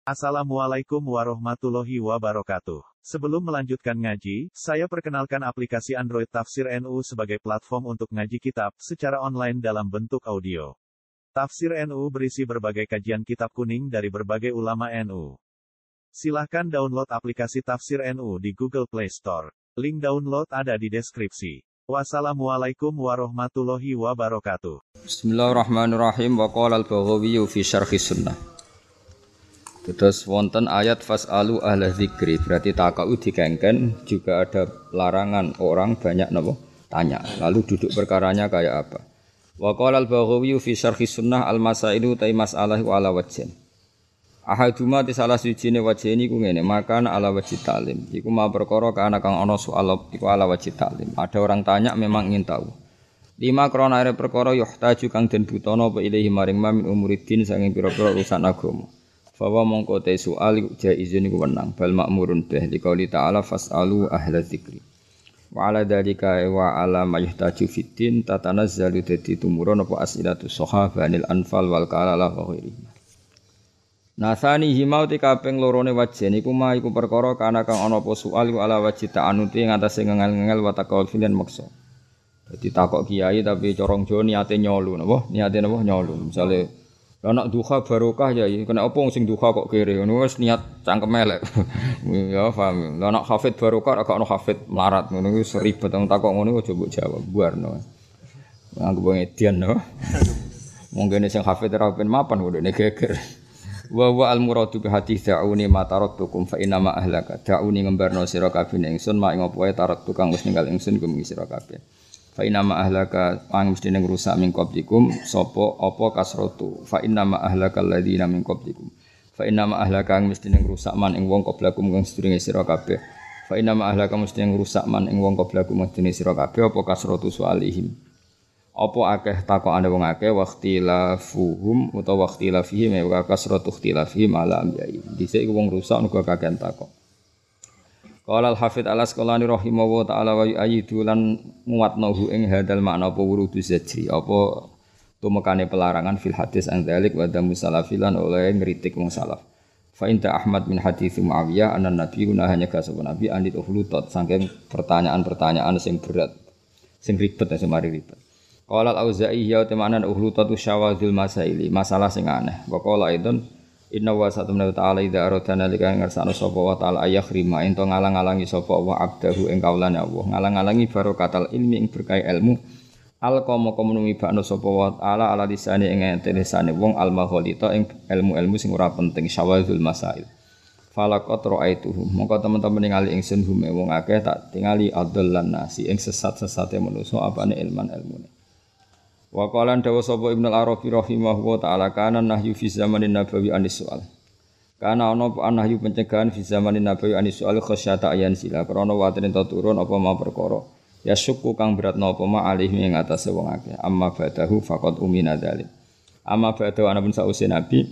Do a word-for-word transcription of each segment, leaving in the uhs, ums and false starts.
Assalamualaikum warahmatullahi wabarakatuh. Sebelum melanjutkan ngaji, saya perkenalkan aplikasi Android Tafsir N U sebagai platform untuk ngaji kitab secara online dalam bentuk audio. Tafsir N U berisi berbagai kajian kitab kuning dari berbagai ulama N U. Silahkan download aplikasi Tafsir N U di Google Play Store. Link download ada di deskripsi. Wassalamualaikum warahmatullahi wabarakatuh. Bismillahirrahmanirrahim. Wa qala al-Baghawi fi syarhi sunnah. Terus wonten ayat fas'alu ahla dzikri, berarti takau dikengken juga ada larangan orang banyak napa tanya. Lalu duduk perkaranya kayak apa? Wa qala al-Baghawi fi syarhi sunnah al-masailu ta mas'alah wa ala wajhin. Ahaduma ti salah sijine wajhin iku ngene, makan ala wajhi ta'lim. Iku ma perkara kana kang ana soal iku ala wajhi ta'lim. Ada orang tanya memang ingin tahu. Lima krana are perkara yuhtaju kang den butono apa ilahi maring mamin umuridin saking pira-pira urusan agama. Fawa mongko te soal jaizun iku wenang bal makmurun bih liqauli ta'ala fasalu ahla dzikri wa ala dzalika wa ala mayhtaju fiddin tatanazzalu dadi tumurun apa asilatu sahabanil anfal wal kalala wa ghairi nasani himau te kaping lorone wajen iku ma iku perkara kana kang ana apa soal iku ala wajib ta'anuti ngatasé ngengel-ngengel wa taqawul filan maksa dadi takok kiai tapi corong jo niate nyolu napa niate napa nyolu misale lah nak duha barokah ya kena apa sing duha kok kere ngono wis niat cangkem elek. Ya paham. Lah nak hafid barokah agak ono hafid melarat ngono wis ribet wong takok ngono aja mbok jawab buarno. Anggap wong edian no. Mungkin sing hafid ora ben mapan ngene geger. Wa wa al muradu bi hadits da'uni ma taraktukum fa inna ma ahlaka. Da'uni ngembarno sira kabeh ingsun mak ing apa wae tarak tukang wis ninggal ingsun gum sira kabeh. Fa inna ma ahlaka ang mesti ning rusak min qablikum sapa apa kasratu fa inna ma ahlakal ladina min qablikum fa inna ma ahlaka ang mesti ning rusak man ing wong qablakum kang sedurunge sira kabeh fa inna ma ahlaka mesti ning rusak man ing wong qablakum mesti sira kabeh apa kasratu sualihim apa akeh takokane wong akeh waqtilafuhum utawa waqtilafihim wa kasratu ikhtilafihim ala ambiyai dhisik wong rusak uga kakean takok. Qala al-Hafidz al-Asqalani rahimahullahu ta'ala wa yu'ayyidu lan muwatnahu ing hadal makna apa wurudu zajri apa tumekane pelarangan fil hadis an dzalik wa damu salafilan oleh ngritik wong salaf. Fa inta Ahmad min hadits Muawiyah anna nabi guna hanya kasabun nabi anit uhlutat saking pertanyaan-pertanyaan sing berat sing ribet sing mari ribet. Qala al-Auza'i ya temanan uhlutat syawadzul masaili masalah sing aneh. Wa qala aidan inna wa satamna ta'ala idza aradana lika ngersano sapa wa ta'ala ayakhrima ento ngalang-alangi sapa wa abdahu ing kaulane Allah ngalang-alangi barokatal ilmi ing berkah ilmu alqama komunumi bakno sapa wa ta'ala ala lisane ing entesane wong almaghalita ing ilmu-ilmu sing ora penting syawazul masail falaqat ra'aituhum mongko teman-teman ningali ingsun hum wong akeh tak tingali adallan nasi ing sesat-sesate manusa apane ilman ilmune. Wa qalan dawa sapa Ibnu Arabi rahimahullahu taala kana nahyu fi zamanin nabawi anis soal. Kana ana apa nahyu pencegahan fi zamanin nabawi anis soal khasyata ayan sila krana waten ento turun apa ma perkara. Ya syukku kang beratna apa ma alih ing atase wong akeh. Amma badahu faqad umina dzalik. Amma badahu ana pun sause nabi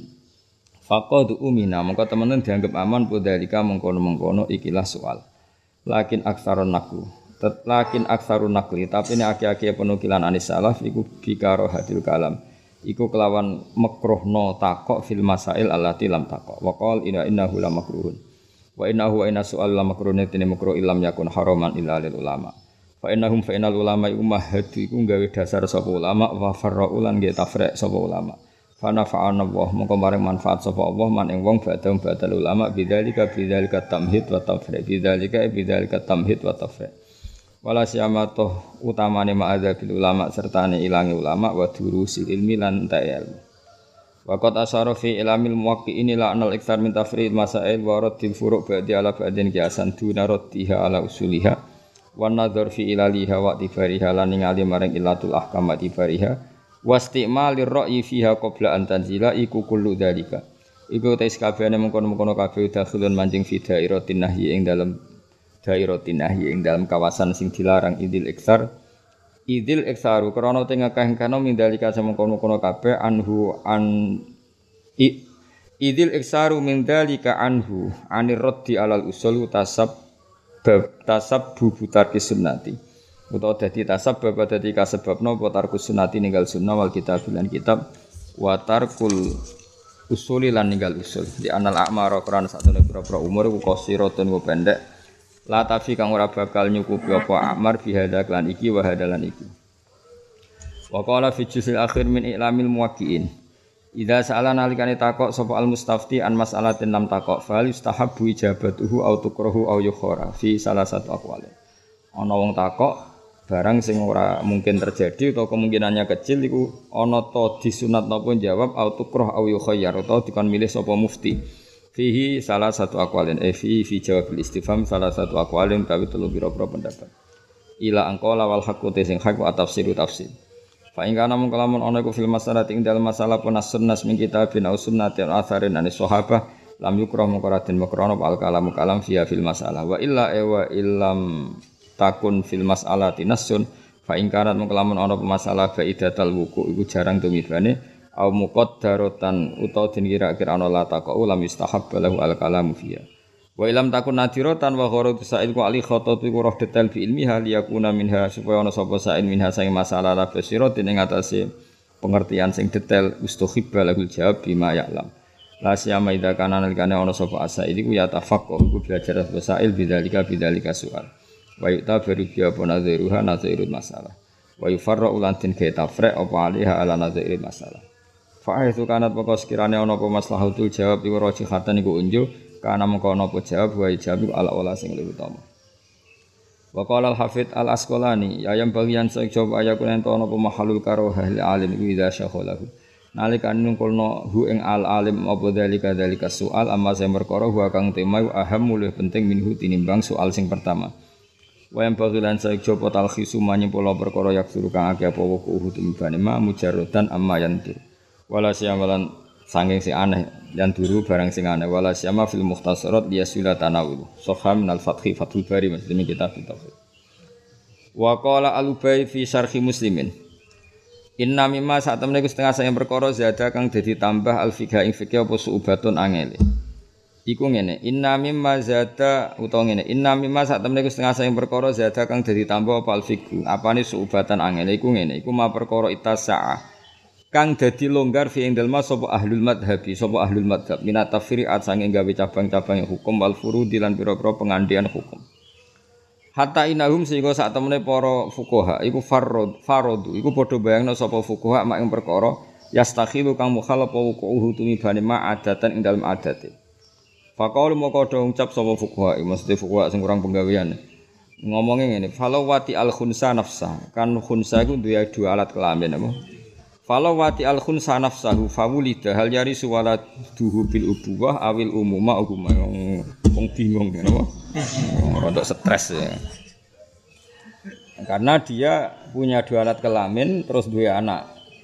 faqad umina mongko temen dianggap aman podalika mengkono-mengkono ikilah soal. Lakin aksarun naku Lakin aksarun nakli tapi ini aki-aki penukilan anis salaf iku bikaro hadil kalam iku kelawan makruhno takok fil masail allati lam takok wa qol inna innahu la makruhun wa innahu wa inna su'al la makruhun tene makruh illam yakun haraman illa lil ulama fa innahum fa innal ulama iku mahadu iku gawe dasar sapa ulama wa farraulan nggih tafrek sapa ulama fa nafa'ana Allah mongko maring manfaat sapa Allah man ing wong badal badal ulama bidzalika bidzalika tamhid wa tafrek bidzalika bidzalika tamhid wa tafrek wala siyamatoh utamane ma'adzabil ulama sertane ilangi ulama wa durusil ilmi lan ta'al wa qad asyara fi ilmil muwaqqi'in ila anal iktsar min tafrid masail wa raddil furu' ba'di ala ba'din qiyasan duna raddiha ala usuliha wan nadhar fi ilaliha wa tibariha lan ningali maring ilatul ahkam wa tibariha wastimalir ra'yi fiha qabla an tanzila iku kullu dzalika iku tes kabehane mengkono-mengkono kabeh dakhulun mancing fi dairatin nahyi ing dalem dairatin nahyi ing dalam kawasan sing dilarang idil iksar idil iksaru krana teng akeh kana mindalika semengkono-kono kabeh anhu an i, idil iksaru mindalika anhu anir raddi alal usul tasab tasab bubutar sunnati utawa dadi tasab bab dadi kasebabna apa tarkus sunnati ninggal sunnah wal kitab lan kitab wa tarkul usuli lan ninggal usul di anal a'mara krana satune pira-pira umur iku qasiratun wa pendek la tafi kang ora bakal nyukupi apa amar fi hadza lan iki wa hadalan iki wa qala fi juz'il akhir min i'lamil muwaqqi'in idza sa'ala nalikane takok sapa al mustafti an mas'alatin lam takok fa yustahabbu ijabatuhu au tukrahu au yukhara fi salah satu aqwal ana wong takok barang sing ora mungkin terjadi atau kemungkinannya kecil iku ana ta disunat napa jawab au tukrah au yukhayyar atau dikon milih sapa mufti fihi salah satu aqwalin eh fi fi jawab istifham salah satu aqwalin tapi telu pira-pira pendapat ila angqala wal haqqu sing haq wa tafsiru tafsir fa ing kana mung kalamun ana iku fil masalah ing dalem masalah punas sunnas min kitabin au sunnatin atharin anis sahabah lam yukrah muqarradin makrana al kalam kalam fiha fil masalah wa illa wa illam takun fil mas'alati nasun fa ing kanat mengkelamun ana pemasalah faidatal wuku iku jarang tumibane au muqaddaratan utawa den kira-kira ana la taqau lam yustahab lahu al kalamu fiya wa ilam takun nadiratan wa gharadu sa'il ku ali khatatu iku roh detail fi ilmiha liyakuna minha supaya ana sapa sa'in minha sing masalah la basiratin ing atase pengertian sing detail ustuhibba lahu jawab bima ya'lam la siyama idza kana nalikane ana sapa asail iku ya tafaqqu iku belajar sa'il bidzalika bidzalika soal wa yutabaru bi apa nadhiruha nadhirul masalah wa yufarra ulantin ka tafriq apa aliha ala nadhiril masalah fa itu kanat pokok sekirane ana apa maslahatul jawab iku rajihatan iku unjuk kana mengko ana apa jawab wa jawab ala ola sing luwih utama wa qala al hafid al asqalani ayam bagian sing jawab ayakun ento ana apa mahalul karohah li alim iku idza syakhalahu nalika nungkulno hu ing al alim apa dalika dalika soal amma sing perkara wa kang tema aham luwih penting minhu tinimbang soal sing pertama wa yang bagilan saik jopo talkhisu manyimpula perkara yak suruh kang akeh apa wuku uhud imbane ma mujarradan amma yantur wala siyamalan sanging sing aneh yanturu barang sing aneh wala siyama fil mukhtasarat liyasula tanawul soham minal fathi fathul bari maksudnya kitab tauhid wa qala al-ubay fi syarhi muslimin inna mimma sak temene setengah sayang perkara zada kang dadi tambah al-fiqh ing fikih apa suubatun angele iku ngene inna mimma zada utawa ngene inna mimma sak temene iku setengah sayang perkara zada kang dadi tambah apa alfiqhu apane suubatan angel iku ngene iku ma perkara itasa'a kang dadi longgar fi ing dalem sapa ahlul madhabi sapa ahlul madhab minat tafri'at sange gawe cabang-cabang hukum wal furudi lan pira-pira pengandian hukum hatta inahum sehingga sak temene para fuqaha iku farad faradu iku padha bayangno sapa fuqaha mak ing perkara yastakhilu kang mukhalafa wuqu'uhu tumibane ma adatan ing dalem adate Faqaul moko do ngucap sapa fuqaha, mesti fuqaha sing kurang penggawean. Ngomongnya ngene, falau wati al khunsa nafsa, kan khunsa iku duwe dua alat kelamin apa? Falau wati al khunsa nafsahu fawulida hal yari suwala duhu bil ubuwah awil umuma uguma wong bingung apa? Rodok stres ya. Karena dia punya dua alat kelamin terus dua anak.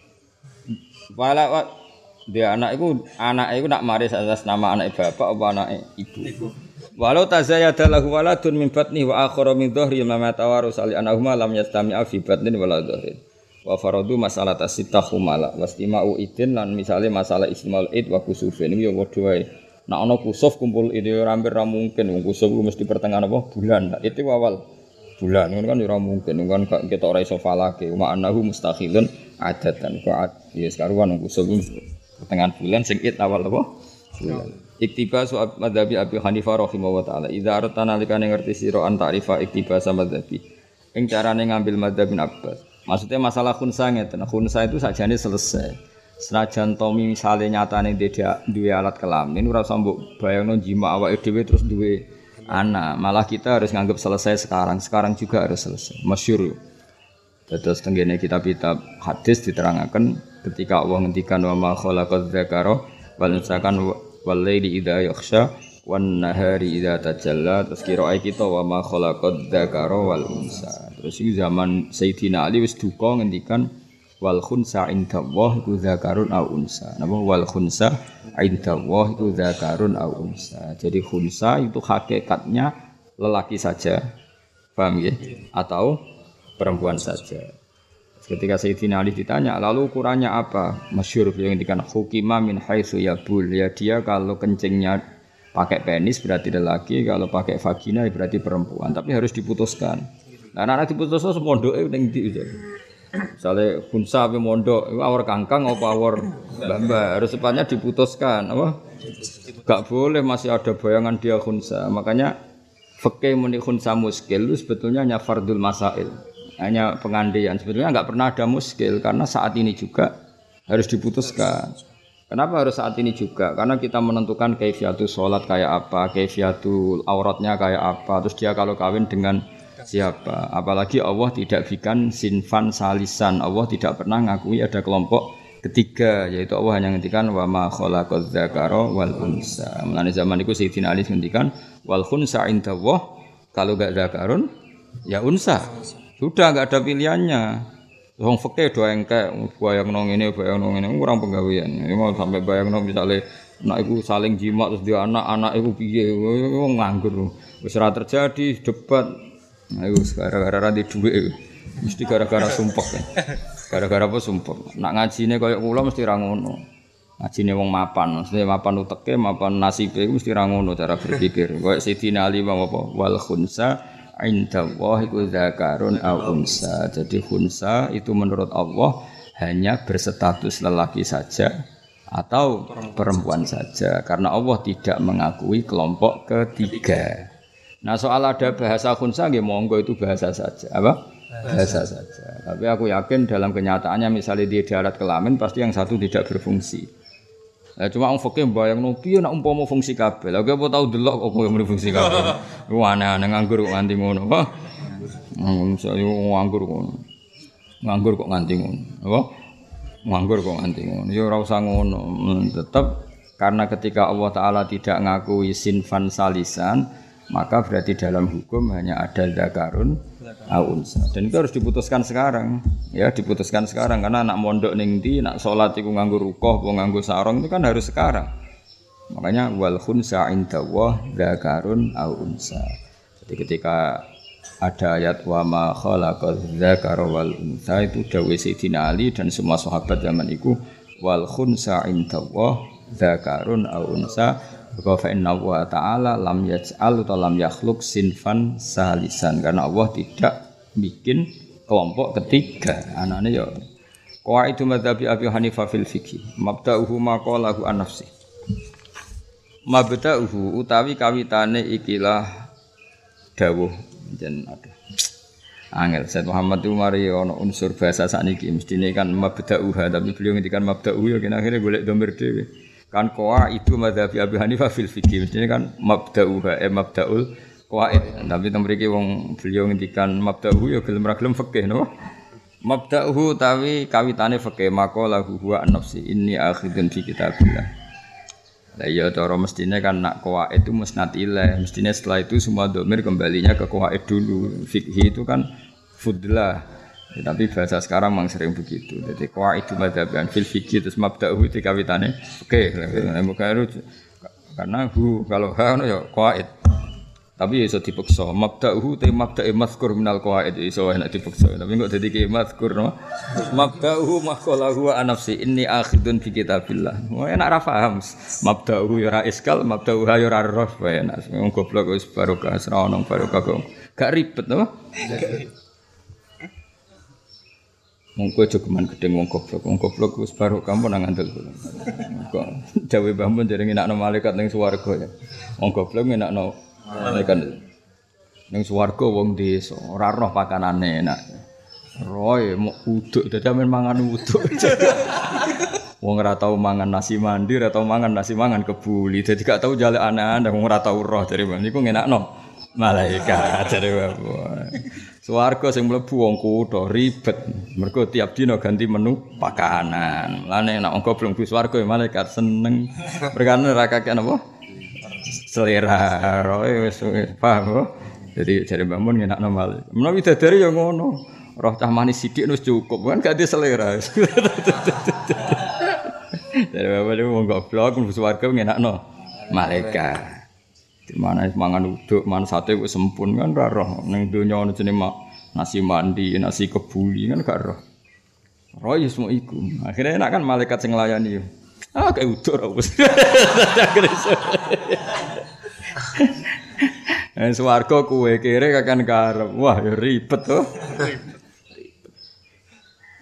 Wala dia anak itu anak itu nak maris atas nama anak bapak apa anak ibu. Walau tazayada lahu waladun min batni wa akhara min dhahri ma tawarus ali anahuma lam yastami'a fi batnin wala dhahrin. Wa faradu masalah tasitahumala wastima'u idin lan misale masalah ismaul id wa kusufin iki ya padha wae. Nek ana kusuf kumpul ide ora hampir ra mungkin wong kusuf mesti pertengahan apa bulan. Itu awal bulan ngono kan ora mungkin kan kita ora iso falake wa annahu mustakhilun adatan fa ya sekaruan kusuf pertengahan bulan sing id awal apa bulan. Iktibas wa madzhabi Abi Hanifah rahimahullah taala. Idza artana likane ngerti sira an ta'rifa iktibas madzhabi. Ing carane ngambil madzhab bin Abbas. Maksudnya masalah khunsa ngeten. Khunsa itu sajane selesai. Senajan Tommy misale nyatane duwe alat kelamin ora usah mbok bayangno jima awake dhewe terus duwe anak. Malah kita harus nganggap selesai sekarang. Sekarang juga harus selesai. Masyhur. Terus tenggene kitab-kitab hadis diterangkan ketika Allah ngendikan wa ma khalaqadz dzakara wal unsa kan wal laili idza yakhsha wan nahari idza tajalla terus kira kita wa ma khalaqadz dzakara wal unsa terus iki zaman Sayyidina Ali wis duka ngendikan wal khunsa indallah iku dzakarun au unsa napa wal khunsa indallah iku dzakarun au unsa jadi khunsa itu hakikatnya lelaki saja paham ya atau perempuan saja. Ketika Sayyidina Ali ditanya, lalu ukurannya apa? Masyhur yang ngendikan hukima min haitsu yabul. Ya dia kalau kencingnya pakai penis berarti lelaki, kalau pakai vagina berarti perempuan. Tapi harus diputuskan. Nah, anak diputuskan semondoke ning ndi. Misalnya khunsa ape mondok, itu awor kangkang apa awor mbak-mbak harus secepatnya diputuskan, apa? Gak boleh masih ada bayangan dia khunsa. Makanya fikih muni khunsa muskil itu sebetulnya hanya fardul masail, hanya pengandian. Sebetulnya enggak pernah ada muskil karena saat ini juga harus diputuskan. Kenapa harus saat ini juga? Karena kita menentukan kaifiatul sholat kayak apa, kaifiatul auratnya kayak apa, terus dia kalau kawin dengan siapa. Apalagi Allah tidak bikin sinfan salisan, Allah tidak pernah ngakui ada kelompok ketiga, yaitu Allah hanya ngendikan wa ma khalaqaz dzakara wal unsa. Mulane zaman itu Sayyidina Ali ngendikan wal khunsa indallah, kalau enggak dzakarun ya unsa. Sudah enggak ada pilihannya. Wong fikih do engkek bayangno ngene bayangno ngene kurang penggawean. Ya mau sampai bayangno misale nek iku saling jimat terus dia anak anak iku piye wong nganggur. Wis ora terjadi debat. Ayo gara-gara ra di dhuwit mesti gara-gara sumpek. Gara-gara apa sumpek. Nak ngajine koyo kula mesti ra ngono. Ngajine wong mapan, mesti mapan uteke, mapan nasibe mesti ra ngono cara berpikir. Koyo Sayyidina Ali apa wal khunsa indallah iku dzakarun aw unsa. Jadi khunsa itu menurut Allah hanya berstatus lelaki saja atau perempuan saja karena Allah tidak mengakui kelompok ketiga. Nah, soal ada bahasa khunsa nggih monggo itu bahasa saja. Apa? Bahasa saja. Tapi aku yakin dalam kenyataannya misalnya di darat kelamin pasti yang satu tidak berfungsi. Lah cuma wong fikih mbayangno piye nek umpama fungsi kabeh. Lah kowe apa tau delok apa muni fungsi kabeh. Ku aneh-aneh nganggur kok nganti ngono. Apa? Saya nganggur kok. Nganggur kok nganti ngono. Apa? Nganggur kok nganti ngono. Ya ora usah ngono. Tetep karena ketika Allah taala tidak ngakui sinfan salisan, maka berarti dalam hukum hanya ada dzakarun aw unsa. Dan itu harus diputuskan sekarang. Ya, diputuskan sekarang karena anak mondok ning ndi, nak salat iku nganggo rukoh, apa nganggo sarung itu kan harus sekarang. Makanya wal khunsa indallah dzakarun aw unsa. Jadi ketika ada ayat wa ma khalaqaz dzakara wal unsa itu dawuh Sayyidina Ali dan semua sahabat zaman itu wal khunsa indallah dzakarun aw unsa. Wa fa inna wa ta'ala lam yaj'al atau lam yakhluq sinfan salisan karena Allah tidak bikin kelompok ketiga. Anane ya qaidu madzhabi Abi Hanifah fil fiqh mabda'uhu ma qalahu an nafsi. Mabda'uhu utawi kawitane ikilah dawuh jen ada. Angel Said Muhammad itu mari ana unsur bahasa sakniki mestine kan mabda'uha tapi beliau ngendikan mabda'u ya kena akhire golek domir dhewe. Kan koa itu madzhabi Abi Hanifah fil fikih mestine kan mabda'uha eh mabda'ul qawaid tapi temriki wong beliau ngendikan mabda'uhu ya gelem ra gelem fikih no mabda'uhu tawi kawitane fikih maqalahu huwa an-nafsi inni akhidun fi kitabillah. Lah ya cara mestine kan nak qawaid itu musnad ilaih mestine setelah itu semua domir kembalinya ke qawaid dulu. Fikih itu kan fudlah. Ya, tapi bahasa sekarang memang sering begitu. Jadi qaidu madzhaban fil fiqh terus mabda'uhu itu kawitane oke okay. Karena hu kalau ha no ya qaid. Tapi iso dipaksa mabda'uhu te mabda'i mazkur minal qaid iso enak dipaksa. Tapi kok dadi ki mazkur no. Mabda'uhu maqalahu an nafsi inni akhidun fi kitabillah. Wah enak ra paham. Mabda'uhu ya ra iskal, mabda'uhu ya ra roh wae enak. Wong goblok wis barokah ora ono barokah kok. Gak ribet no. Wong kowe jogeman gedeng wong goblok, wong goblok wis baru kamu nang ngandel. Kok dawe Mbah Mun jare ngenakno malaikat ning swarga ya. Wong goblok ngenakno malaikat ning swarga wong desa, ora roh pakanane enak. Roe mau uduk dadi amen mangan uduk. Wong ora tau mangan nasi mandi, ora tau mangan nasi mangan kebuli. Dadi gak tau jaluk anak-anak wong ora tau roh jare Mbah niku ngenakno malaikat jare Mbah. Swarga sing mlebu wong kutho ribet. Mergo tiap dina ganti menu pakanan. Lane nek wong goblok mlebu swarga ya malaikat seneng. Perkara ora kakek napa? Selera. Roe wis paham kok. Jadi jare Mbah Mun ngenakno malaikat. Menawi dadari ya ngono. Roh cah manis sithik wis cukup kan gak ada selera. Dari Mbah Mun wong goblok mlebu swarga ngenakno malaikat. Di mana mangan uduk, mangan sate kok sempun kan ora roh. Ning donya ana jenenge nasi mandi, nasi kebuli kan gak roh. Roh ya semua iku. Akhirnya enak kan malaikat sing nglayani. Ah kayak uduk ora wis. Eh swarga kuwe kere kakan karep. Wah ya ribet to.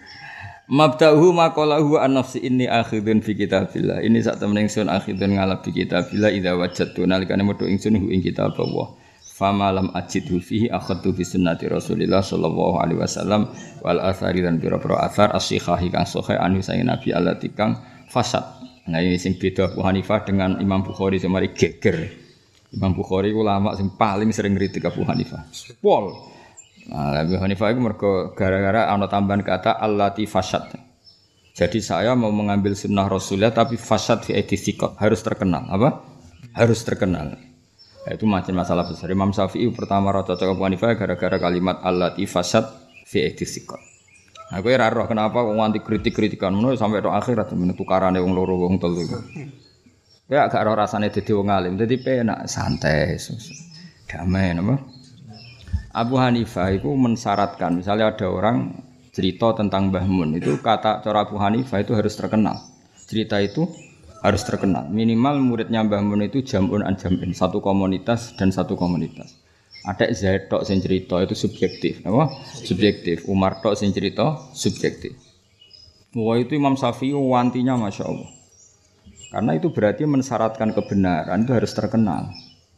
Mabda'uhu maqalahu an nafsi inni akhidun fi kitabillah. Ini sak temen ingsun akhidun ngalap fi kitabillah idza wajadtu nalikane metu ingsun hu ing kitab Allah. Fama lam ajidhu fihi akhadtu bi sunnati Rasulillah sallallahu alaihi wasallam wal athari dan pira-pira athar as-sihah kang sahih anu saking Nabi Allah tikang fasad. Nah ini sing beda Abu Hanifah dengan Imam Bukhari semari geger. Imam Bukhari ulama sing paling sering ngritik Abu Hanifah. Pol. Nah, Abu Hanifah itu mergo gara-gara ana tambahan kata allati fasad. Jadi saya mau mengambil sunnah Rasulullah tapi fasad fi aidisiqat harus terkenal. Apa? Harus terkenal. Nah, itu macam masalah besar. Imam Syafi'i pertama ra cocok Abu Hanifah gara-gara kalimat allati fasad fi aidisiqat. Nah, kowe ora roh kenapa wong anti kritik-kritikan ngono sampai tok akhirat men tukarane wong loro wong telu. Kowe gak ora rasane dadi wong alim, dadi penak santai. Damai napa? Abu Hanifah itu mensyaratkan, misalnya ada orang cerita tentang Mbah Mun, itu kata cara Abu Hanifah itu harus terkenal. Cerita itu harus terkenal. Minimal muridnya Mbah Mun itu jamun an jamin, satu komunitas dan satu komunitas. Ada Zaid tok sing cerita itu subjektif, apa? Subjektif. Umar tok sing cerita subjektif. Wah itu Imam Syafi'i wantinya Masya Allah. Karena itu berarti mensyaratkan kebenaran itu harus terkenal.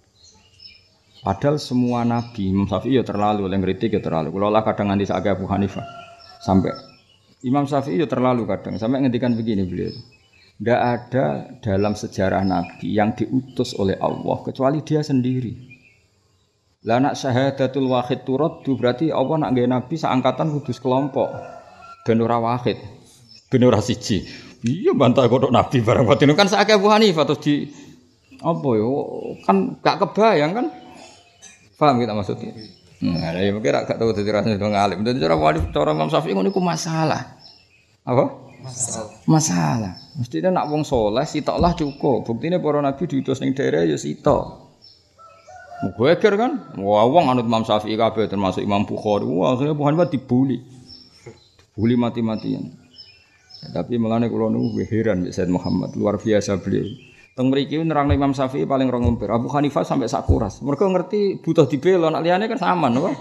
Padahal semua nabi, Imam Syafi'i ya terlalu, yang kritik ya terlalu. Kalau lah kadang nganti sakit Abu Hanifah, sampai Imam Syafi'i ya terlalu kadang, sampai ngendikan begini beliau. Tidak ada dalam sejarah nabi yang diutus oleh Allah kecuali dia sendiri. Lah nak syahadatul wahid turaddu berarti Allah nak nggawe nabi seangkatan kudus kelompok. Ben ora wahid, ben ora siji. Iya bantah kodok nabi barang batin kan sakit Abu Hanifah terus di apa yo kan gak kebayang kan? Paham kita maksudnya? Nah, ya mungkin gak tahu dadi rasane wong alim. Dadi cara wali cara Imam Syafi'i ngono iku masalah. Apa? Masalah. Masalah. Mestine nak wong saleh sitoklah cukup. Buktine para nabi diutus ning daerah ya sitok. Mugeger kan? Wah, wong anut Imam Syafi'i kabeh termasuk Imam Bukhari. Wah, akhirnya Abu Hanifah dibuli. Dibuli mati-matian. Ya, tapi melane kula niku heran Mbak Said Muhammad, luar biasa beliau. Teng mriki nerangno Imam Syafi'i paling rong lembar. Abu Hanifah sampai sak kuras. Mergo ngerti butuh dibela, nek liyane kan saman, apa?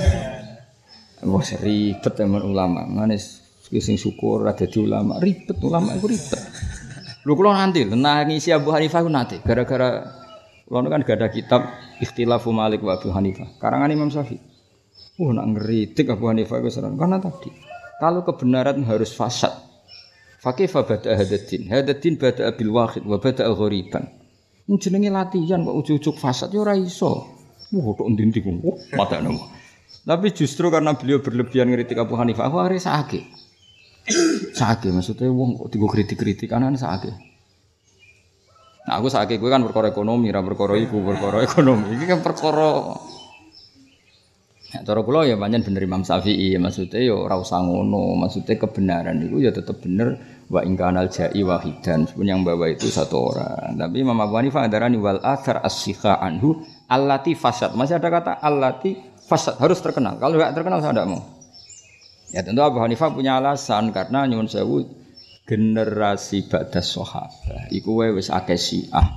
Wah, ribet teman ulama. Manis sing syukur ada di ulama, ribet ulama iku ribet. Lho kula nanti nangisi Abu Hanifah ku nate gara-gara kula kan gak ada kitab Ikhtilafu Malik wa Abu Hanifah. Karangan Imam Syafi'i. Wah, nak ngritik Abu Hanifah ku serang. Karena tadi kalau kebenaran harus fasad. Fakifa bada hadatin, hadatin bada bil wahid, wa bada ghoriban. Ini jenenge latihan kok ujuk-ujuk fasad ya ora iso. Wah tok ndi-ndi ku. Mata nemu. Tapi justru karena beliau berlebihan ngritik Abu Hanifah, aku arek sakake. Sakake maksudnya wong kok digo kritik-kritik anan sakake. Nah aku sakake kowe kan perkara ekonomi, ra perkara iku, perkara ekonomi. Iki kan perkara ya, cara kula ya pancen bener Imam Syafi'i, maksudnya ya ora usah ngono, maksudnya kebenaran itu ya tetap bener wa ingkanal ja'i wahidan, meskipun yang bawa itu satu orang. Tapi Imam Abu Hanifah adarani wal athar as-sikha anhu allati fasad. Masih ada kata allati fasad, harus terkenal. Kalau enggak terkenal saya enggak mau. Ya tentu Abu Hanifah punya alasan karena nyuwun sewu generasi ba'da sahabat iku wis akeh Syiah.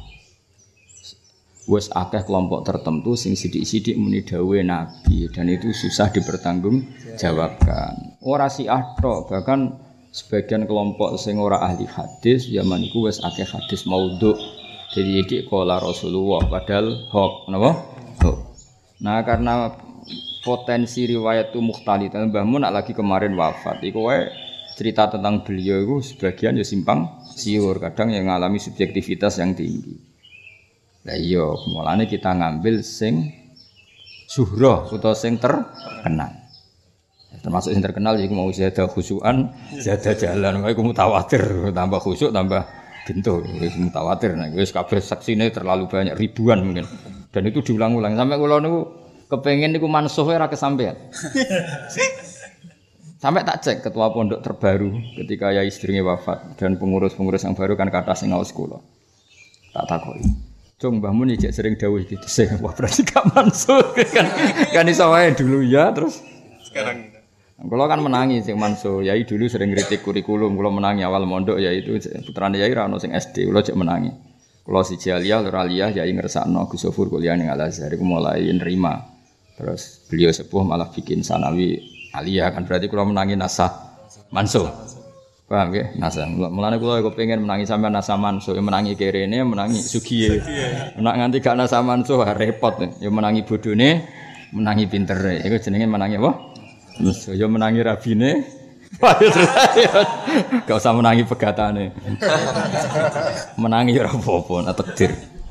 Wes akeh kelompok tertentu sing sidik-sidik muni dawuhe Nabi dan itu susah dipertanggungjawabkan. Ora Syiah tok, bahkan sebagian kelompok sing ora ahli hadis zaman iku wes akeh hadis maudhu. Jadi iki qala Rasulullah padahal hoax, napa? Hoax. Nah, karena potensi riwayat itu mukhtalif. Mbah Mun lagi kemarin wafat. Iku wae cerita tentang beliau itu sebagian ya simpang siur, kadang yang mengalami subjektivitas yang tinggi. Lah iya, mulane kita ngambil sing suhroh utawa sing terkenal. Termasuk sing terkenal iku mau zada khusyuan, zada jalan, iku mutawatir, tambah khusyuk tambah gento, wis mutawatir. Nah, wis kabeh saksine terlalu banyak, ribuan mungkin. Dan itu diulang-ulang sampai kula niku kepengin niku mansuhe ora kesampean. Sampai tak cek ketua pondok terbaru ketika yai istrinya wafat dan pengurus-pengurus yang baru kan kata sing ngaos kula. Tak takoki. Cung Mbah Mun iki sering dawuh iki sing wah berarti gak mansuh kan kan iso wae dulu ya terus sekarang kula kan menangi sing mansuh yai dulu sering kritik kurikulum kula menangi awal mondok ya itu putrane yai ra ono sing S D kula cek menangi kula siji aliyah loro aliyah yai ngersakno Gus Sofur kuliah ning Al Azhar iku mulai nerima terus beliau sepuh malah bikin sanawi aliyah kan berarti kula menangi nasah mansuh Paham ya? Nasa. Mulane kula kok pengen menangi sampean nasa manso, ya menangi kerene, menangi sugiye. Nek nganti gak nasa manso repot. Ya menangi bodone, menangi pintere. Iku jenenge menangi apa? Manso. Ya menangi rabine. Gak usah menangi pegatane. Menangi ora apa-apa, takdir.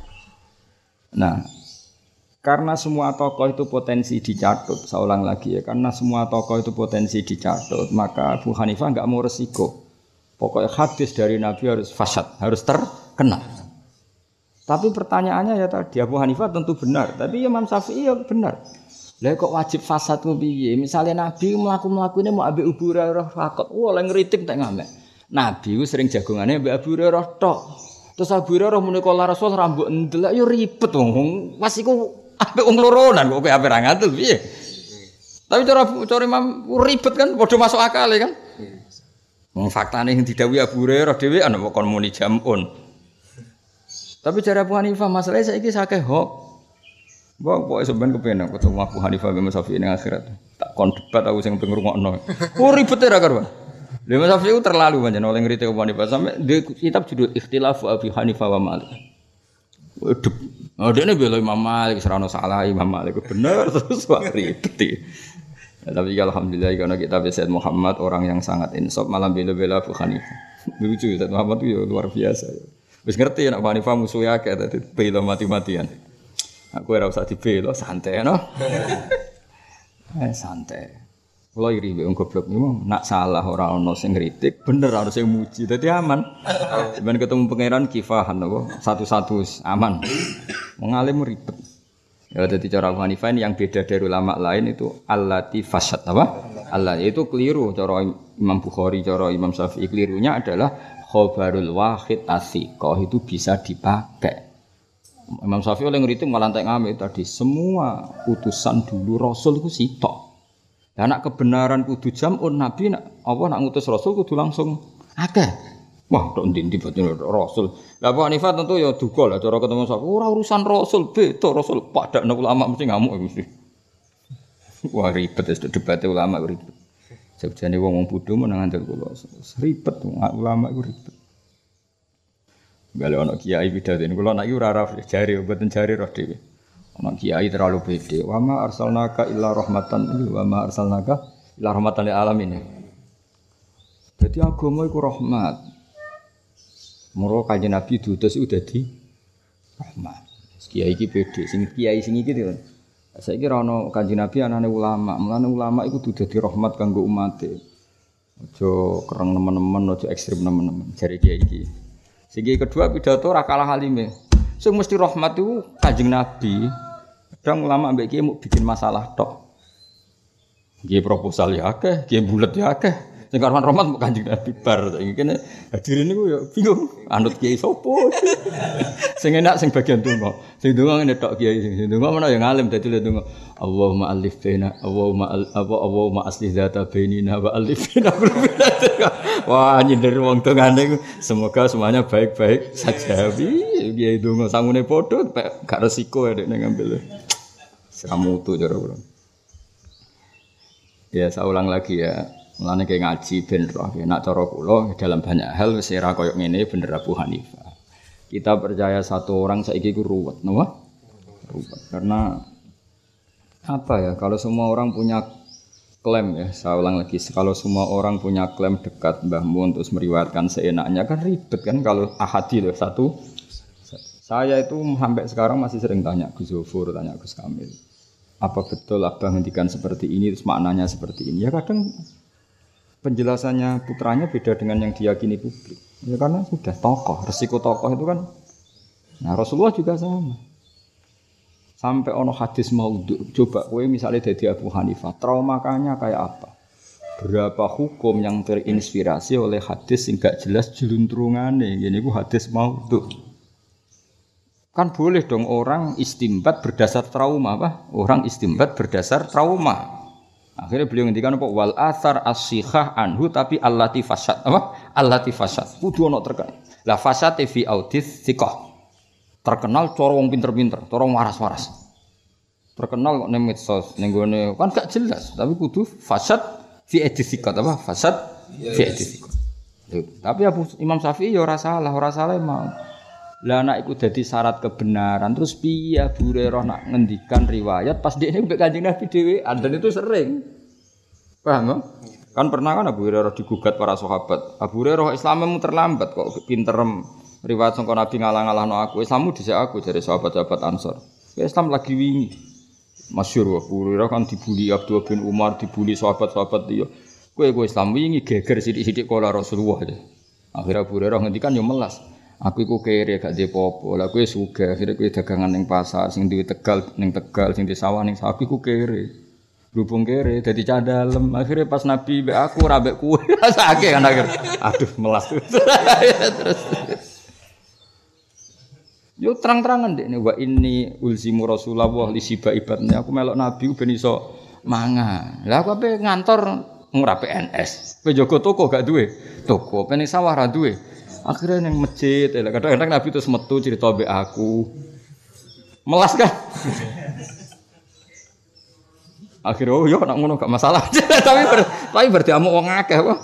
Nah, karena semua tokoh itu potensi dicatut, saya ulang lagi ya, karena semua tokoh itu potensi dicatut, maka Abu Hanifah enggak mau resiko. Pokoknya hadis dari Nabi harus fasad, harus terkenal. Tapi pertanyaannya ya tadi, Abu Hanifah tentu benar, tapi Imam Syafi'i ya benar. Lah kok wajib fasad ku piye? Misale Nabi mlaku-mlakune mau ambek Abu Hurairah fakot. Wah, lek ngritik tak ngamek. Nabi ku sering jagongane ambek Abu Hurairah tok. Terus Abu Hurairah muni kala Rasul rambut ndelok yo ribet wong. Pas iku ambek wong loronan kok ape ra ngatul piye? Tapi cara cara Imam ribet kan padha masuk akal kan? Wong faktane sing didhawuhi Abu Hurairah dhewe ana kok kon muni jamun. Tapi cara Abu Hanifah masalahnya saiki sakeh hok. Mbok pokoke sampean kepen aku ketemu Abu Hanifah ben Syafi'i ning akhirat. Tak kon debat aku sing pengen ngrungokno. Oh ribet ra karuan. Lha Imam Syafi'i terlalu pancen oleh ngritik Abu Hanifah sampe di kitab judul Ikhtilafu Abu Hanifah wa Malik. Waduh. Oh dene bela Imam Malik ora ono salah Imam Malik bener terus wah ribet. Ya, tapi alhamdulillah karena kitab Sayyid Muhammad orang yang sangat insaf malam bela-bela Abu Hanifah. Lucu Sayyid Muhammad itu ya luar biasa. Wis ngerti nek Abu Hanifah musuhnya akeh dadi bela mati-matian. Aku ora usah dibela, santai no. Eh santai. Kula iri wong goblok niku nak salah ora ono sing ngritik, bener ora sing muji. Dadi aman. Ben ketemu pangeran kifahan apa? Satu-satu aman. Mengalim ribet. Ya dadi cara Abu Hanifah ini yang beda dari ulama lain itu allati fasad apa? Allah itu keliru cara Imam Bukhari, cara Imam Syafi'i kelirunya adalah khabarul wahid athiqah itu bisa dipakai. Imam Syafi'i oleh ngritik malah entek ngamik tadi semua utusan dulu Rasul ku sitok. Lah nek kebenaran kudu jamun Nabi nek apa nak ngutus Rasul kudu langsung akeh. Wah, tok ndi-ndi batin Rasul. Lah Abu Hanifah tentu ya duka lah cara ketemu Syafi'i ora urusan Rasul beda Rasul padakno ulama mesti ngamuk mesti. Wah ribet wis debat ulama ribet. Sebjane wong-wong bodho menang andel kula. Ribet ulama iku ribet. Kalau anak kiai bidatin, kalau anak ura raf jari, buatan jari roh dewi. Anak kiai terlalu pede. Wama arsalnaka illa rahmatan lil wama arsalnaka illa rahmatan lil alamin. Jadi agama itu rahmat. Moro kanjeng Nabi diutus udah di rahmat. Kiai iki pede, sing kiai sing iki to. Saiki ra ono kanjeng Nabi anane ulama, mulane ulama iku kudu dadi rahmat kanggo umate. Aja kereng nemen-nemen, aja ekstrem nemen-nemen jare kiai iki. Segi kedua pidato ora kalah halime. Sing mesti rahmat itu Kanjeng Nabi. Kadang ulama mbek kiye mau bikin masalah tok. Nggih proposal ya akeh, nggih bulet ya akeh. Sing karuan rahmat mau Kanjeng Nabi bar saiki kene hadirin niku ya bingung. Anut kiai sapa? Sing enak sing bagian donga. Sing donga ngene tok kiai sing donga menawa ya ngalim dadi le donga. Allahumma alif baina Allahumma apa Allahumma aslih dzata bainina wa alif baina qulubina. Wah nyindir wong dongane semoga semuanya baik-baik saja. Kiai donga sangune padha gak resiko nek ngambil. Seramutu cara kula. Ya saya ulang lagi ya. Mulane kayak ngaji ben roh nek cara kula dalam banyak hal wis ora koyo ngene bener Abu Hanifah. Kita percaya satu orang saiki ku ruwet, napa? Ruwet. Karena apa ya? Kalau semua orang punya klaim ya, saya ulang lagi, kalau semua orang punya klaim dekat Mbah Mun terus meriwayatkan seenaknya kan ribet kan kalau ahadi loh satu. Saya itu sampai sekarang masih sering tanya Gus Zofur, tanya Gus Kamil. Apa betul Abang ngendikan seperti ini terus maknanya seperti ini? Ya kadang penjelasannya putranya beda dengan yang diyakini publik. Ya karena sudah tokoh, resiko tokoh itu kan. Nah Rasulullah juga sama. Sampai ono hadis maudhu. Coba kowe misalnya dadi Abu Hanifah, traumakanya kayak apa? Berapa hukum yang terinspirasi oleh hadis sing gak jelas jeluntrungane. Ngene iku hadis maudhu. Kan boleh dong orang istimbat berdasar trauma apa? Orang istimbat berdasar trauma. Akhirnya beliau ngendikan apa? Wal athar as-sihah anhu tapi allati fasad apa? Allati fasad. Kudu ono terkenal. La fasad fi audits thiqah. Terkenal cara wong pinter-pinter, cara waras-waras. Terkenal kok ning medsos, ning gone kan gak jelas, tapi kudu fasad fi edisikat apa? Fasad fi edisikat. Tapi Abu Imam Syafi'i ya ora salah, ora salah mau. Lah anak iku dadi syarat kebenaran. Terus piye Abu Hurairah nak ngendikan riwayat pas dekne mbek Kanjeng Nabi dhewe, dan itu sering. Paham ya? Kan pernah kan Abu Hurairah digugat para sahabat. Abu Hurairah Islammu terlambat kok pinterem riwayat sangka Nabi ngalah-ngalahno aku. Islammu dhisik aku dari sahabat-sahabat Ansor. Islam lagi wingi. Masyhur Abu Hurairah kan dibuli Abdullah bin Umar, dibuli sahabat-sahabat dia. Kowe kowe Islam wingi geger sithik-sithik kala Rasulullah. Akhirnya Abu Hurairah ngendikan yo melas. Aku iku kere gak ndek apa-apa. Lah kowe sugih, akhire kowe dagangan ning pasar, sing duwe Tegal ning Tegal, sing di sawah ning sawah iku kere. Berhubung kere dadi cah dalem. Akhire pas Nabi mbek aku ora mbek kowe. Sakake kan akhir. Aduh melas. Terus yo terang-terangan ndekne wa inni ulzimu Rasulullah li siba ibadnya. Aku melok Nabi ben iso mangan. Lah aku ape ngantor ora P N S. Kowe jaga toko gak duwe. Toko pening sawah ra duwe. Akhirnya ning masjid, kadang-kadang Nabi terus metu cerita mbek aku. Melas kan? Akhirnya oh yo nak ngono gak masalah. Tapi ber, tapi berarti amuk wong akeh apa?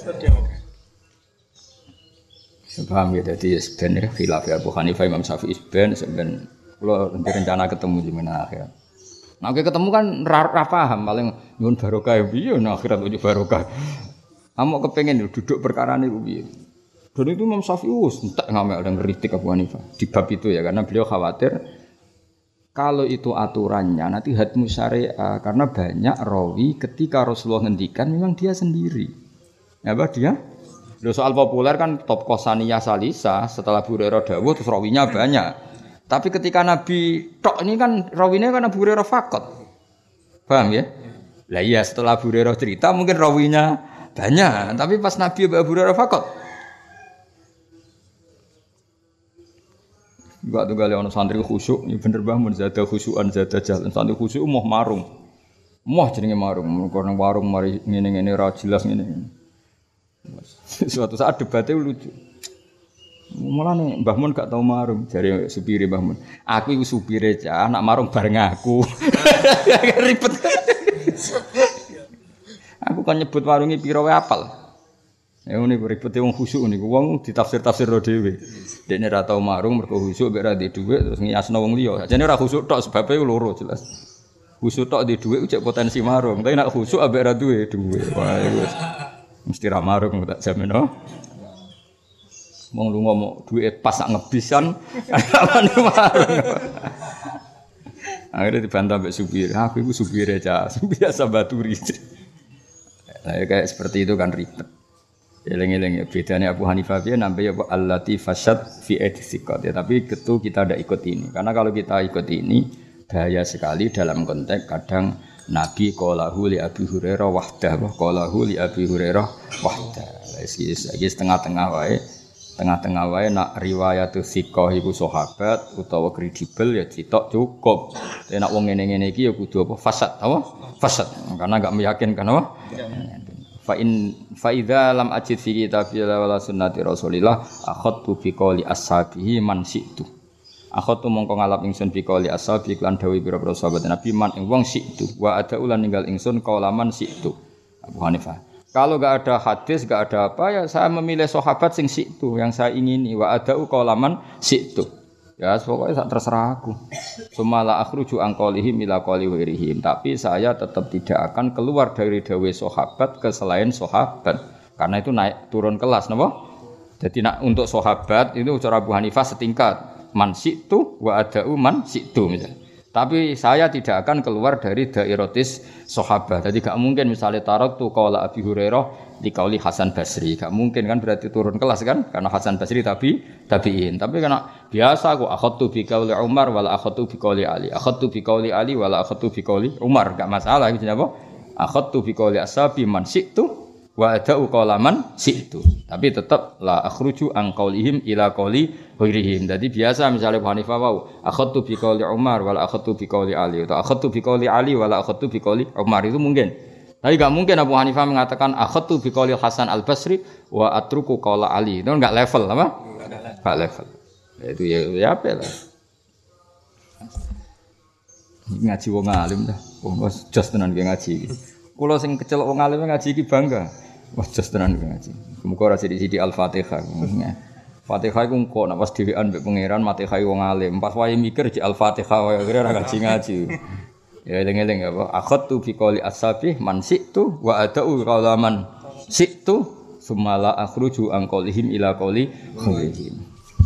Paham ya, jadi sebenarnya khilaf ya Abu Hanifah Imam Syafi'i ben sebenarnya kalau rencana ketemu di mana akhir. Nah, oke ketemu kan ra paham paling nyuwun barokah piye nah akhirat ujuk barokah. Amuk kepengin duduk perkara niku piye. Dan itu Imam Syafi'i wis entek ngamel dan ngritik Abu Hanifah di bab itu ya karena beliau khawatir kalau itu aturannya nanti hadmu syariah karena banyak rawi ketika Rasulullah ngendikan memang dia sendiri. Ya apa dia? Lho soal populer kan top kosaniyah salisa setelah Abu Hurairah dawuh terus rawinya banyak. Tapi ketika Nabi tok ini kan rawinya kan Abu Hurairah faqat. Paham ya? Lah iya setelah Abu Hurairah cerita mungkin rawinya banyak, tapi pas Nabi Abu Hurairah faqat. Enggak tunggal ana santri khusyuk, ya bener bah mun zada khusyukan zada jalan. Santri khusyuk moh marung. Moh jenenge marung, karena warung mari ngene-ngene ra jelas ngene. Suatu saat debatnya lucu. Mulane Mbah Mun gak tau marung, jare supire Mbah Mun. Aku iku supire cah, nak marung bareng aku. Ribet. Aku kan nyebut warunge pira wae apal. Ya ngene ribete wong khusyuk niku wong ditafsir-tafsirno dhewe. Dekne ra tau marung mergo khusyuk mek ra ndek dhuwit terus ngiasno wong liya. Sajane ora khusyuk tok sebabe loro jelas. Khusyuk tok ndek dhuwit cek potensi marung, tapi nek khusyuk ambek ra duwe dhuwit. Wah iku mesti ra marung tak jamin no. Wong lu ngomong duit pas sak ngebisan amane marung. Akhirnya dibantah mbek supir. Aku iku supire cah, biasa baturi. Nah, kayak seperti itu kan ribet. Eleng-eleng ya bedanya Abu Hanifah dia nambah ya allati fasad fi etiqad ya tapi ketu kita tidak ikut ini karena kalau kita ikut ini bahaya sekali dalam konteks kadang Nabi qalahu li Abi Hurairah wahdah qalahu li Abi Hurairah wahdah iki setengah-tengah wae tengah-tengah wae nak riwayat thiqah iku sahabat utawa kredibel ya citok cukup nek wong ngene-ngene iki ya kudu apa fasad apa fasad karena enggak meyakinkan apa fa in fa idza lam ajid fi kitabillah wala sunnati rasulillah akhadtu bi qouli ashabihi man situ akhadtu mongko ngalap ingsun bi qouli ashabi lan dawuh pira-pira sahabat Nabi man ing wong situ wa ada ulan ninggal ingsun qaulaman situ Abu Hanifah kalau enggak ada hadis enggak ada apa ya saya memilih sahabat sing situ yang saya ingini wa ada qaulaman situ ya pokoknya terserah aku. Sumala akhruju angqalihim ila qali wirihim. Tapi saya tetap tidak akan keluar dari dawuh sahabat ke selain sahabat. Karena itu naik turun kelas napa? Jadi nak untuk sahabat itu cara Abu Hanifah setingkat. Man situ wa ada'u man situ misalnya. Tapi saya tidak akan keluar dari dairatis sahabat. Jadi gak mungkin misalnya taraktu qaula Abi Hurairah di qauli Hasan Basri. Gak mungkin kan berarti turun kelas kan? Karena Hasan Basri tapi tabi'in. Tapi karena biasa aku akhadtu bi qauli Umar wala akhadtu bi qauli Ali. Akhadtu bi qauli Ali wala akhadtu bi qauli Umar. Gak masalah gitu apa? Akhadtu bi qauli ashabi man syi'tu wa ada'u qaulaman syi'tu. Tapi tetap la akhruju an qaulihim ila qauli ghairihim. Jadi biasa misalnya Abu Hanifah wau akhadtu bi qauli Umar wala akhadtu bi qauli Ali atau akhadtu bi qauli Ali wala akhadtu bi qauli Umar itu mungkin. Tapi enggak mungkin Abu Hanifah mengatakan akhadtu bi qauli Hasan Al-Basri wa atruku qaula Ali. Itu enggak level apa? Enggak level. Itu ya ya apa lah. Ngaji wong alim dah. Wong jos tenan ngaji. Kula sing kecel wong alim ngaji iki bangga. Wah jos tenan ngaji. Muga ora sithik-sithik Al-Fatihah. Fatihah iku kok nek pas dhewean mbek pangeran Fatihah wong alim. Pas wae mikir di Al-Fatihah wae kira ora ngaji-ngaji. Ya eling-eling apa? Akhadtu fi qouli as-sabih man si'tu wa adau qalaman si'tu sumala akhruju an qaulihim ila qauli khairihim.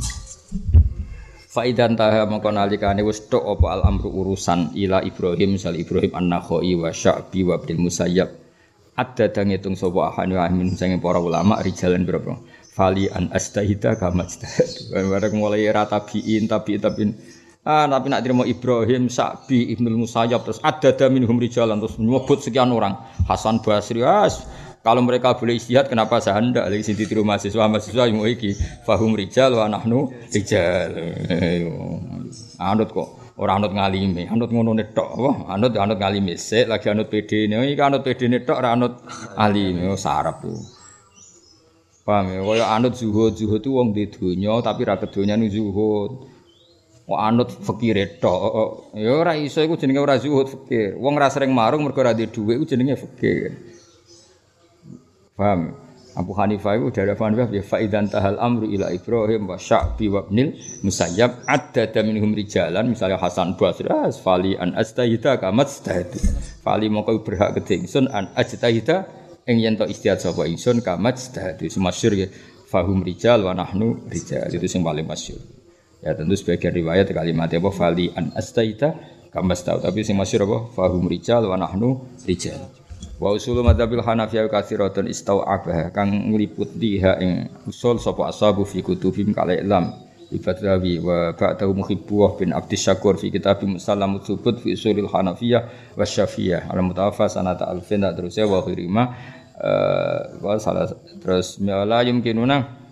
Faidan taha mongko nalikane wis tok apa al-amru urusan ila Ibrahim sal Ibrahim an-Nakhai wa Sya'bi wa Ibnu Musayyab. Ada dang ngitung sapa ahli amin sange para ulama rijalan berapa? Fali an astahida kama astahid. Bareng mulai era tabiin tabiin tabiin. Ah tapi nak terima Ibrahim, Sya'bi, Ibnu Musayyab terus ada minhum rijalan terus nyebut sekian orang. Hasan Basri as kalau mereka boleh ijtihad kenapa saya ndak lagi sing ditiru mahasiswa mahasiswa yang iki fahum rijal wa nahnu rijal. Anut kok ora anut ngalime, anut ngono tok apa? Anut anut ngalime sik lagi anut P D-ne. Iki anut P D-ne tok ora anut alime, sarep tuh. Paham ya, kaya anut zuhud, zuhud itu wong di dunya tapi ra kedonyane zuhud. Wong anut fakire tok. Ya ora iso iku jenenge ora zuhud fakir. Wong ra sering marung mergo ora duwe dhuwit iku jenenge fakir. Paham? Abu Hanifah itu dari Abu Hanifah ya faidan tahal amru ila Ibrahim wa Sya'bi wa Ibnil Musayyab adda minhum rijalan misalnya Hasan Basri fali an astahida kamat stahid. Fali mongko berhak kedingsun an ajtahida ing yen to istihad sapa ingsun kamat stahid. Masyhur ya fahum rijal wa nahnu rijal itu sing paling masyhur. Ya tentu sebagian riwayat kalimat apa fali an astahida kamat stahid tapi sing masyhur apa fahum rijal wa nahnu rijal. Wa usul madzhabil Hanafiyah katsiratun istau'abah kang ngliputi ha ing usul sapa ashabu fi kutubim kala ilam ibadawi wa ba'dahu muhibbuh bin Abdis Syakur fi kitab Musallamut Tsubut fi usulil Hanafiyah wa Syafi'iyah al mutawaffa sanata alfin terus wa khirima wa salah terus la yumkinuna.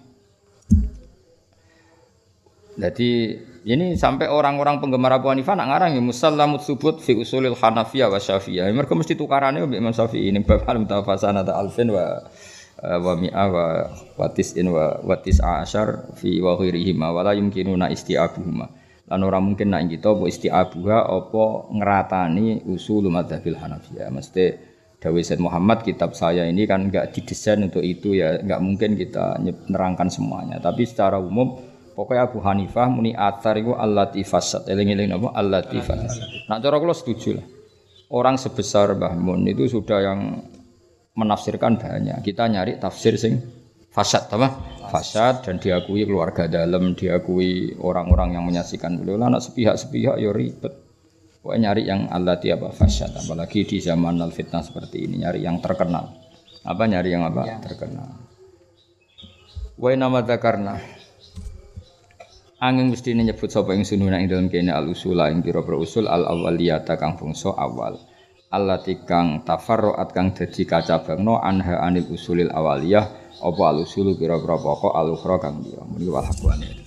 Jadi ini sampai orang-orang penggemar Abu Hanifah nak ngarang ya Musallamut Tsubut fi usulil Hanafiyah wa Syafi'iyah. Mereka mesti tukarane mbek Imam Syafi'i ini bab al-mutafassana ta alfin wa wa mi'a wa watis'in wa watis'a asyar fi wa ghairihi ma wala yumkinuna isti'abuhuma. Lan ora mungkin nak kita apa isti'abuha apa ngratani usul madzhabil Hanafiyah. Mesti dawuh Said Muhammad kitab saya ini kan enggak didesain untuk itu ya, enggak mungkin kita nerangkan semuanya. Tapi secara umum pokoknya Abu Hanifah muni athar iku allati fasad. Eling-eling napa allati fasad. Nak cara kula setuju lah. Orang sebesar Mbah Mun itu sudah yang menafsirkan banyak. Kita nyari tafsir sing fasad apa? Fasad dan diakui keluarga dalam, diakui orang-orang yang menyaksikan beliau. Lah anak sepihak-sepihak ya ribet. Pokoknya nyari yang allati apa fasad. Apalagi di zaman al-fitnah seperti ini nyari yang terkenal. Apa nyari yang apa? Ya. Terkenal. Wa nama dzakarna angin mesti nyebut sapa ing sununa ing dalem kene al-usula ing pira-pira usul al-awwaliyata kang bangsa awal. Allati kang tafarruat kang dadi kacabangno anha anil usulil awaliyah apa al-usulu pira-pira pokok al-ukhra kang liya. Menika wal